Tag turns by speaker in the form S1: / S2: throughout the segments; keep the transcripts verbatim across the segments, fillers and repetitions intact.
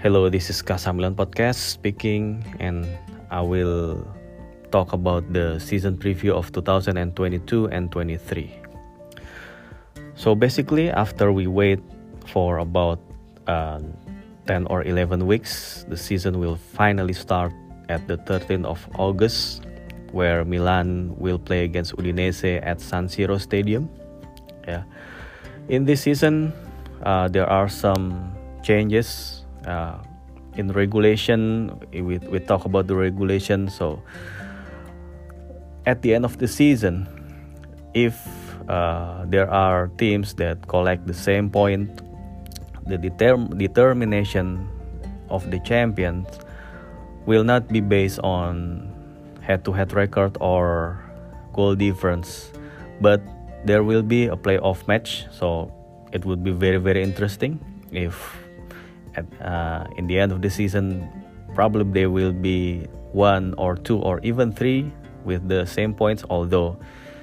S1: Hello, this is Kasamilan Podcast speaking, and I will talk about the season preview of two thousand twenty-two and twenty-three. So basically, after we wait for about uh, ten or eleven weeks, the season will finally start at the thirteenth of August, where Milan will play against Udinese at San Siro Stadium. Yeah, in this season, uh, there are some changes. Uh, in regulation, we, we talk about the regulation. So at the end of the season, if uh, there are teams that collect the same point, the determ- determination of the champions will not be based on head-to-head record or goal difference, but there will be a playoff match. So it would be very very interesting if At, uh, in the end of the season, probably there will be one or two or even three with the same points, although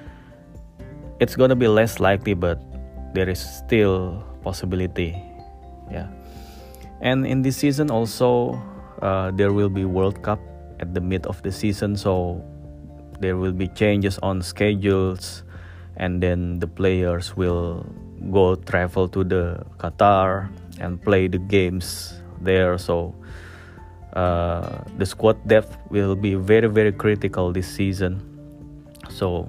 S1: it's gonna be less likely, but there is still possibility. Yeah, and in this season also, uh, there will be World Cup at the mid of the season, so there will be changes on schedules, and then the players will go travel to the Qatar and play the games there. So uh, the squad depth will be very very critical this season. So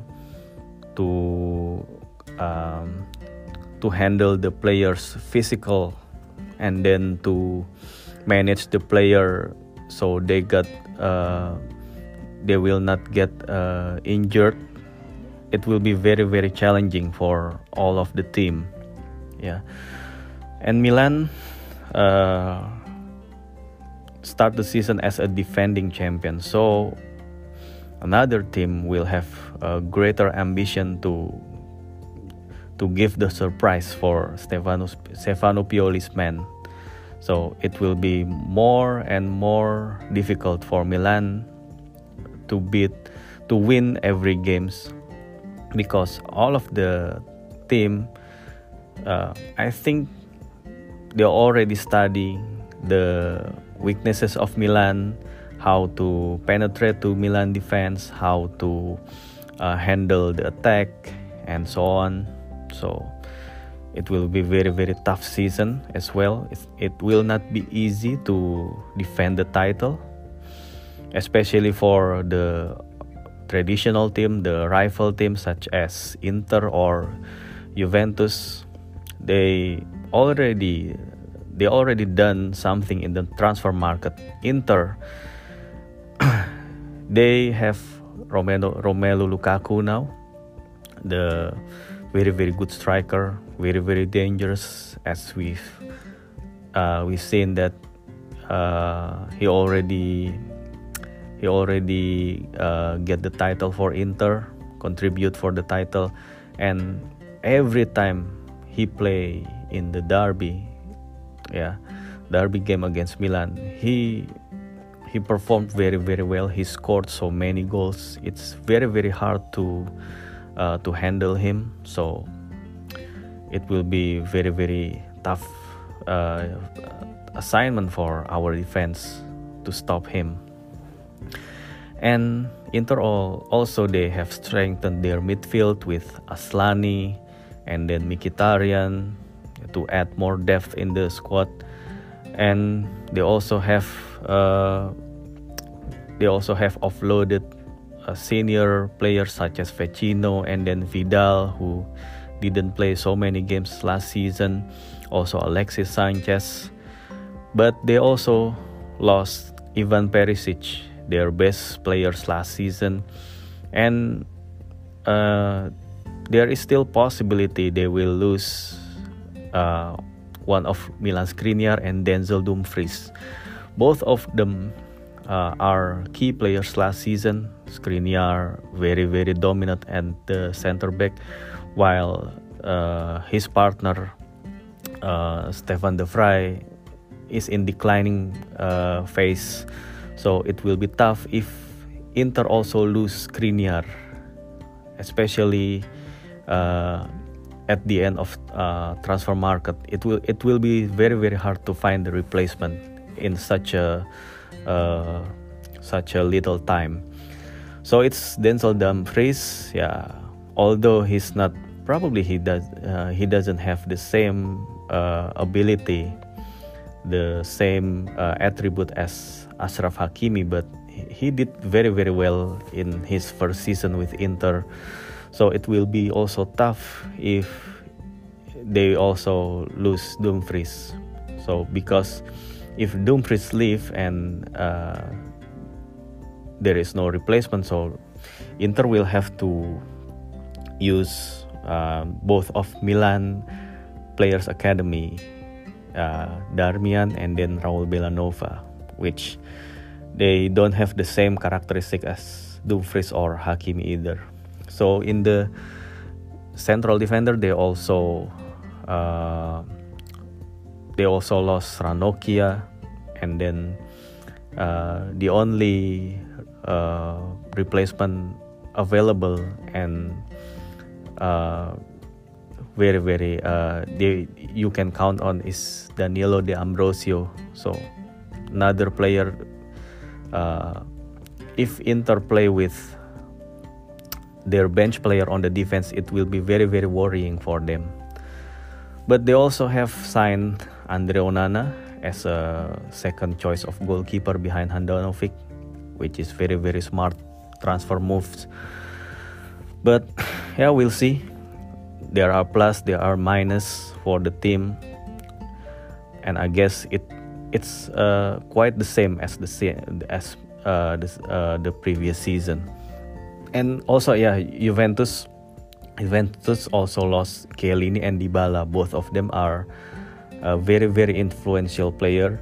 S1: to um, to handle the players physical and then to manage the player so they got uh, they will not get uh, injured, it will be very very challenging for all of the team. Yeah. And Milan uh, start the season as a defending champion, so another team will have a greater ambition to to give the surprise for Stefano Stefano Pioli's men. So it will be more and more difficult for Milan to beat to win every games, because all of the team, uh, I think, they already study the weaknesses of Milan, how to penetrate to Milan defense, how to uh, handle the attack, and so on. So it will be very very tough season as well. It, it will not be easy to defend the title, especially for the traditional team, the rival teams such as Inter or Juventus. They already they already done something in the transfer market. Inter, they have Romelu Romelu Lukaku now, the very very good striker, very very dangerous, as we've uh, we've seen that uh, he already he already uh, get the title for Inter, contribute for the title, and every time he play in the derby, yeah, derby game against Milan, he he performed very very well. He scored so many goals. It's very very hard to uh, to handle him. So it will be very very tough uh, assignment for our defense to stop him. And Inter also, they have strengthened their midfield with Aslani and then Mkhitaryan to add more depth in the squad. And they also have uh, they also have offloaded uh, senior players such as Vecino and then Vidal, who didn't play so many games last season. Also Alexis Sanchez, but they also lost Ivan Perisic, their best players last season, and uh, there is still possibility they will lose uh, one of Milan Skriniar and Denzel Dumfries. Both of them uh, are key players last season. Skriniar very very dominant at the center back, while uh, his partner uh, Stefan de Vrij is in declining uh, phase. So it will be tough if Inter also lose Skriniar, especially uh, at the end of uh, transfer market. It will it will be very very hard to find the replacement in such a uh, such a little time. So it's Denzel Dumfries. Yeah, although he's not probably he does uh, he doesn't have the same uh, ability, the same uh, attribute as Achraf Hakimi, but he did very very well in his first season with Inter. So it will be also tough if they also lose Dumfries. So because if Dumfries leave and uh, there is no replacement, so Inter will have to use uh, both of Milan players academy, uh, Darmian and then Raul Bellanova, which they don't have the same characteristic as Dumfries or Hakimi either. So in the central defender, they also uh, they also lost Ranocchia, and then uh, the only uh, replacement available and uh, very very uh, they, you can count on is Danilo De Ambrosio. So another player. Uh, if Inter play with their bench player on the defense, it will be very very worrying for them. But they also have signed Andre Onana as a second choice of goalkeeper behind Handanovic, which is very very smart transfer moves. But yeah, we'll see. There are plus, there are minus for the team, and I guess it it's uh, quite the same as the as uh, this, uh, the previous season. And also, yeah, Juventus, Juventus also lost Chiellini and Dybala. Both of them are a very, very influential player,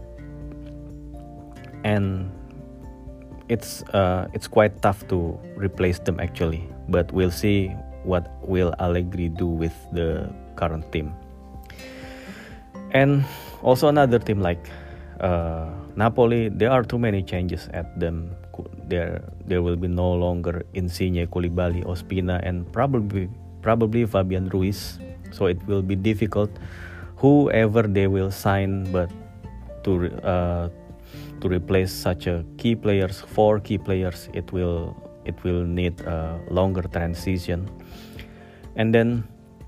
S1: and it's uh, it's quite tough to replace them actually. But we'll see what will Allegri do with the current team. And also another team like uh, Napoli, there are too many changes at them. There, there will be no longer Insigne, Koulibaly, Ospina, and probably, probably Fabian Ruiz. So it will be difficult, whoever they will sign, but to uh, to replace such a key players, four key players, it will it will need a longer transition. And then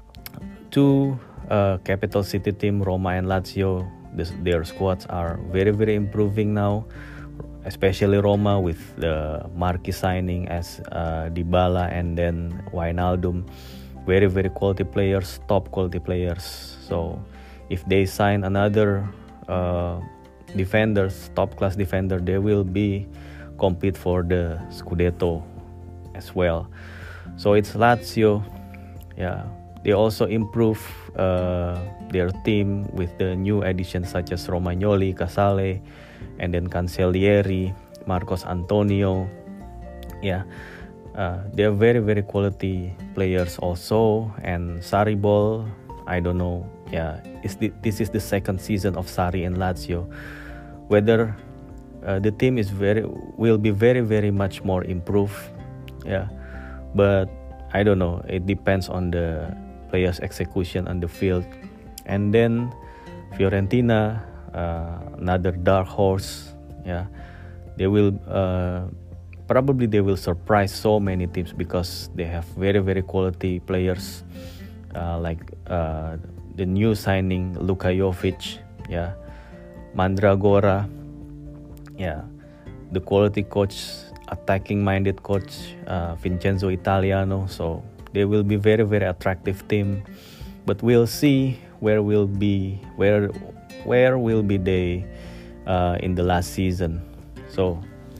S1: two uh, capital city team, Roma and Lazio, this, their squads are very very improving now. Especially Roma with the Marquis signing as uh, Dybala and then Wijnaldum, very very quality players, top quality players. So if they sign another uh, defenders, top class defender, they will be compete for the Scudetto as well. So it's Lazio, yeah. They also improve uh, their team with the new additions such as Romagnoli, Casale, and then Cancellieri, Marcos Antonio. Yeah, uh, they are very very quality players also. And Sarri Ball, I don't know. Yeah, is the, this is the second season of Sarri and Lazio. Whether uh, the team is very will be very very much more improved. Yeah, but I don't know. It depends on the players' execution on the field. And then Fiorentina, uh, another dark horse. Yeah, they will uh, probably they will surprise so many teams because they have very very quality players, uh, like uh, the new signing Luka Jovic. Yeah, Mandragora. Yeah, the quality coach, attacking minded coach uh, Vincenzo Italiano. So they will be very very attractive team, but we'll see where will be where where will be they uh, in the last season. So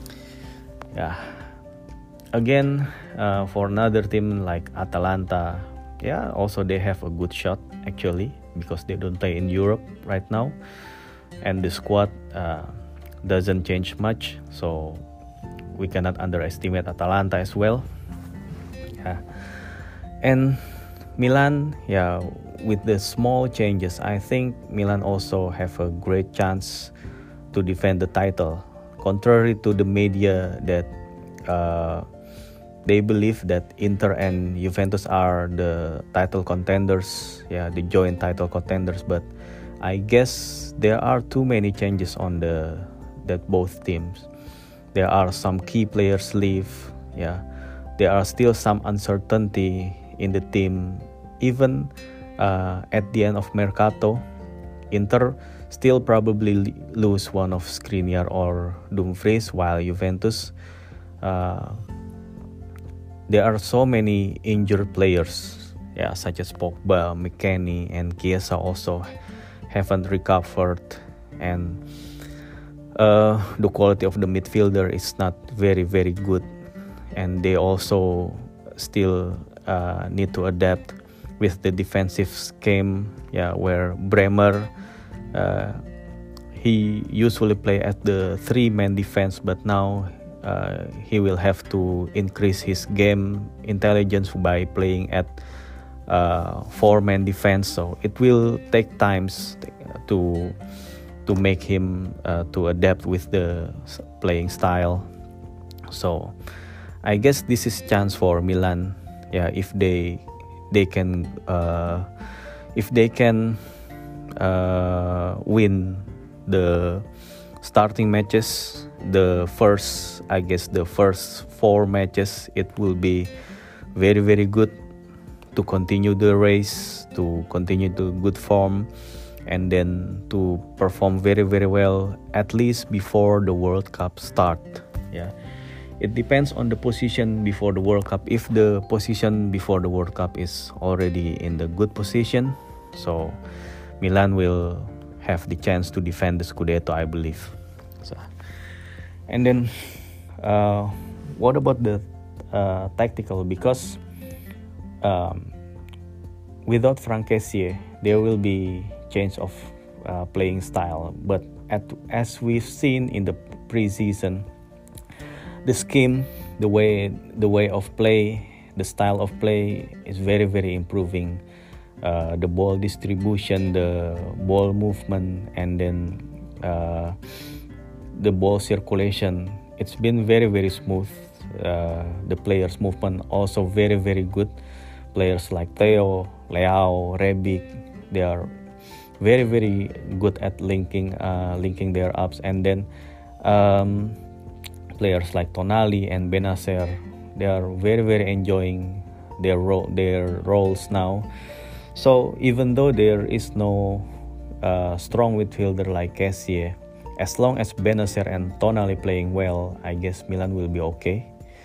S1: yeah, again uh, for another team like Atalanta, yeah, also they have a good shot actually because they don't play in Europe right now, and the squad uh, doesn't change much, so we cannot underestimate Atalanta as well. Yeah. And Milan, yeah, with the small changes, I think Milan also have a great chance to defend the title. Contrary to the media that uh, they believe that Inter and Juventus are the title contenders, yeah, the joint title contenders. But I guess there are too many changes on the that both teams. There are some key players leave. Yeah, there are still some uncertainty in the team. Even uh, at the end of Mercato, Inter still probably lose one of Skriniar or Dumfries, while Juventus, uh, there are so many injured players, yeah, such as Pogba, McKennie, and Chiesa also haven't recovered, and uh, the quality of the midfielder is not very very good, and they also still uh, need to adapt with the defensive scheme, yeah, where Bremer, uh, he usually play at the three-man defense, but now uh, he will have to increase his game intelligence by playing at uh, four-man defense. So it will take times to to make him uh, to adapt with the playing style. So I guess this is chance for Milan, yeah, if they they can uh, if they can uh, win the starting matches, the first I guess the first four matches, it will be very very good to continue the race, to continue the good form, and then to perform very very well at least before the World Cup start. Yeah, it depends on the position before the World Cup. If the position before the World Cup is already in the good position, so Milan will have the chance to defend the Scudetto, I believe. So, and then uh, what about the uh, tactical? Because um, without Franck Kessié, there will be change of uh, playing style. But at, as we've seen in the preseason, the scheme, the way the way of play, the style of play is very very improving. Uh, the ball distribution, the ball movement, and then uh, the ball circulation, it's been very very smooth. Uh, the players movement also very very good. Players like Theo, Leao, Rebic, they are very very good at linking uh, linking their ups. And then um, players like Tonali and Benacer, they are very very enjoying their ro- their roles now. So even though there is no uh, strong midfielder like Kessié, as long as Benacer and Tonali playing well, I guess Milan will be okay.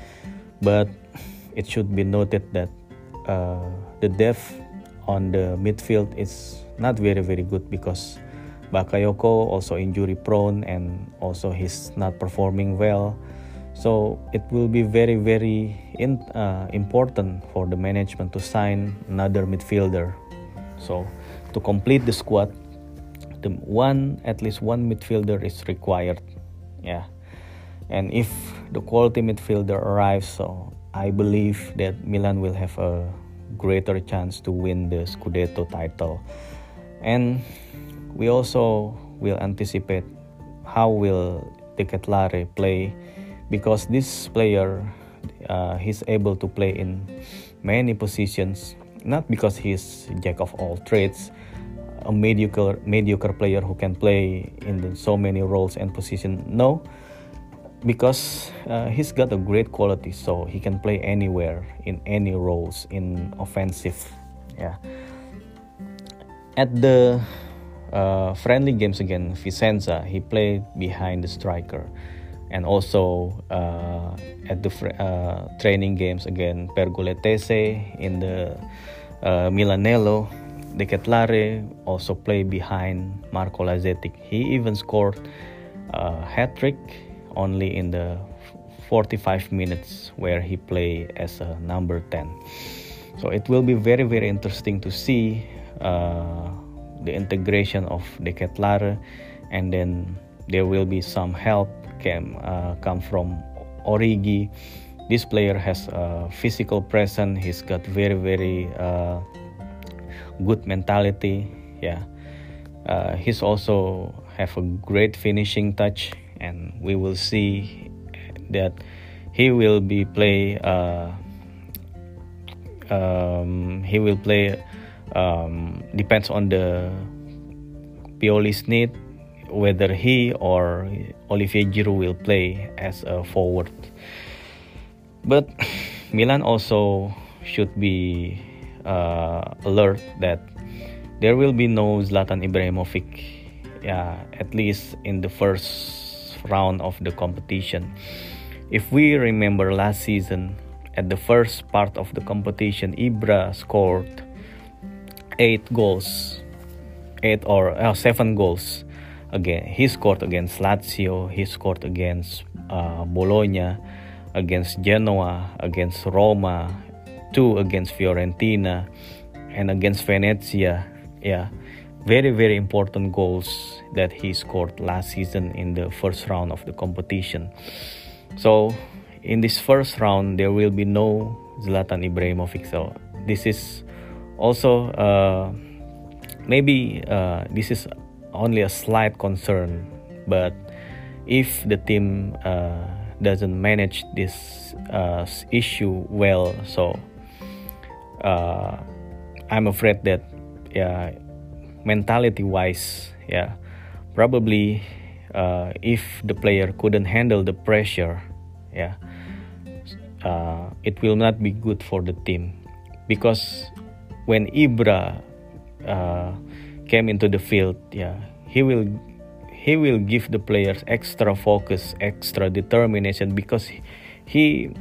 S1: But it should be noted that uh, the depth on the midfield is not very very good, because Bakayoko also injury prone and also he's not performing well. So it will be very very in, uh, important for the management to sign another midfielder. So to complete the squad, the one at least one midfielder is required. Yeah, and if the quality midfielder arrives, so I believe that Milan will have a greater chance to win the Scudetto title. And we also will anticipate how will De Ketelaere play, because this player uh, he's able to play in many positions, not because he's jack of all trades, a mediocre mediocre player who can play in the, so many roles and positions. No, because uh, he's got a great quality, so he can play anywhere in any roles in offensive. Yeah, at the uh, friendly games again, Vicenza, he played behind the striker. And also uh, at the uh, training games again, Pergoletese in the uh, Milanello, De Ketelaere also played behind Marco Lazetic. He even scored a hat-trick only in the forty-five minutes where he played as a number ten. So it will be very very interesting to see uh, the integration of De Ketelaere, and then there will be some help can uh, come from Origi. This player has a physical presence. He's got very very uh, good mentality. Yeah, uh, he's also have a great finishing touch, and we will see that he will be play. Uh, um, he will play. Um, depends on the Pioli's need whether he or Olivier Giroud will play as a forward. But Milan also should be uh, alert that there will be no Zlatan Ibrahimovic, yeah, at least in the first round of the competition. If we remember last season, at the first part of the competition, Ibra scored eight goals, eight or uh, seven goals. Again, he scored against Lazio, he scored against uh, Bologna, against Genoa, against Roma, two against Fiorentina, and against Venezia. Yeah, very very important goals that he scored last season in the first round of the competition. So in this first round there will be no Zlatan Ibrahimovic. So this is also uh, maybe uh, this is only a slight concern, but if the team uh, doesn't manage this uh, issue well, so uh, I'm afraid that yeah, mentality wise, yeah, probably uh, if the player couldn't handle the pressure, yeah, uh, it will not be good for the team, because when Ibra uh, came into the field, yeah, he will he will give the players extra focus, extra determination, because he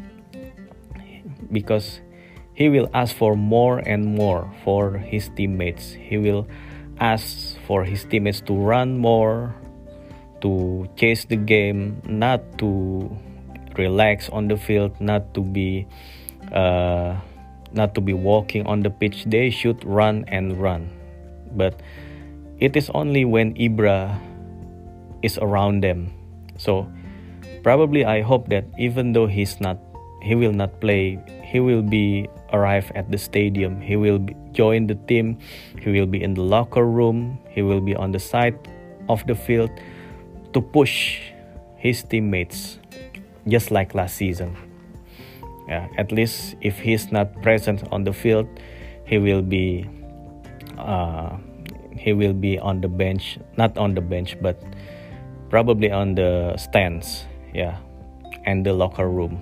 S1: because he will ask for more and more for his teammates. He will ask for his teammates to run more, to chase the game, not to relax on the field, not to be uh, not to be walking on the pitch. They should run and run. But it is only when Ibra is around them. So probably I hope that even though he's not, he will not play, he will be arrive at the stadium. He will be, join the team. He will be in the locker room. He will be on the side of the field to push his teammates, just like last season. Yeah, at least if he's not present on the field, he will be uh, he will be on the bench, not on the bench, but probably on the stands, yeah, and the locker room.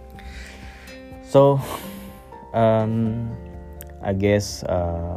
S1: So, um, I guess uh,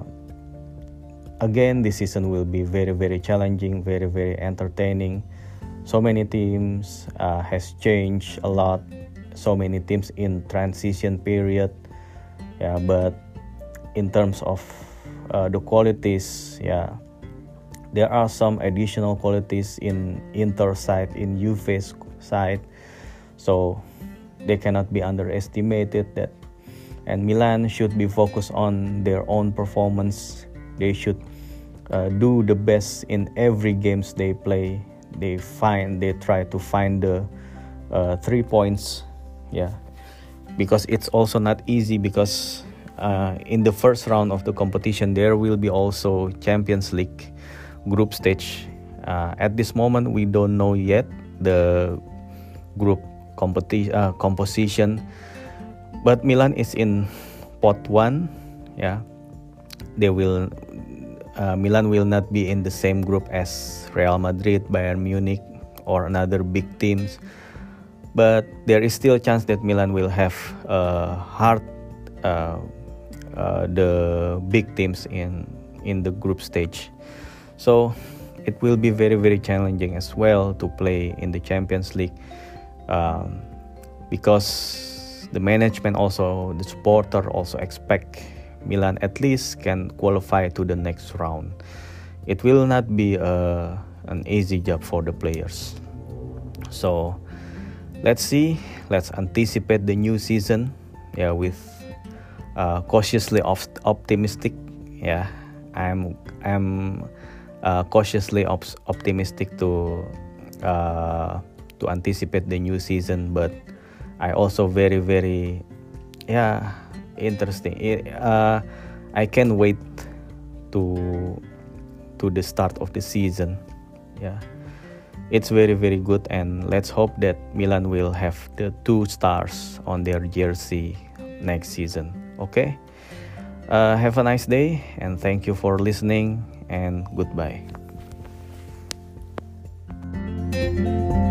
S1: again this season will be very very challenging, very very entertaining. So many teams uh, has changed a lot. So many teams in transition period, yeah. But in terms of uh, the qualities, yeah, there are some additional qualities in Inter side, in Juve's side, so they cannot be underestimated. That and Milan should be focused on their own performance. They should uh, do the best in every games they play. They find they try to find the uh, three points, yeah, because it's also not easy, because uh, in the first round of the competition there will be also Champions League group stage. Uh, at this moment we don't know yet the group competi- uh, composition, but Milan is in pot one, yeah. They will uh, Milan will not be in the same group as Real Madrid, Bayern Munich, or another big teams, but there is still a chance that Milan will have uh, hard uh, uh, the big teams in in the group stage. So it will be very very challenging as well to play in the Champions League, um, because the management also, the supporter also expect Milan at least can qualify to the next round. It will not be a, an easy job for the players. So let's see, let's anticipate the new season, yeah, with uh, cautiously op- optimistic. Yeah, I'm I'm uh, cautiously op- optimistic to uh, to anticipate the new season, but I also very very yeah interesting. Uh, I can't wait to to the start of the season. Yeah, it's very very good, and let's hope that Milan will have the two stars on their jersey next season. Okay, uh, have a nice day, and thank you for listening, and goodbye.
S2: you.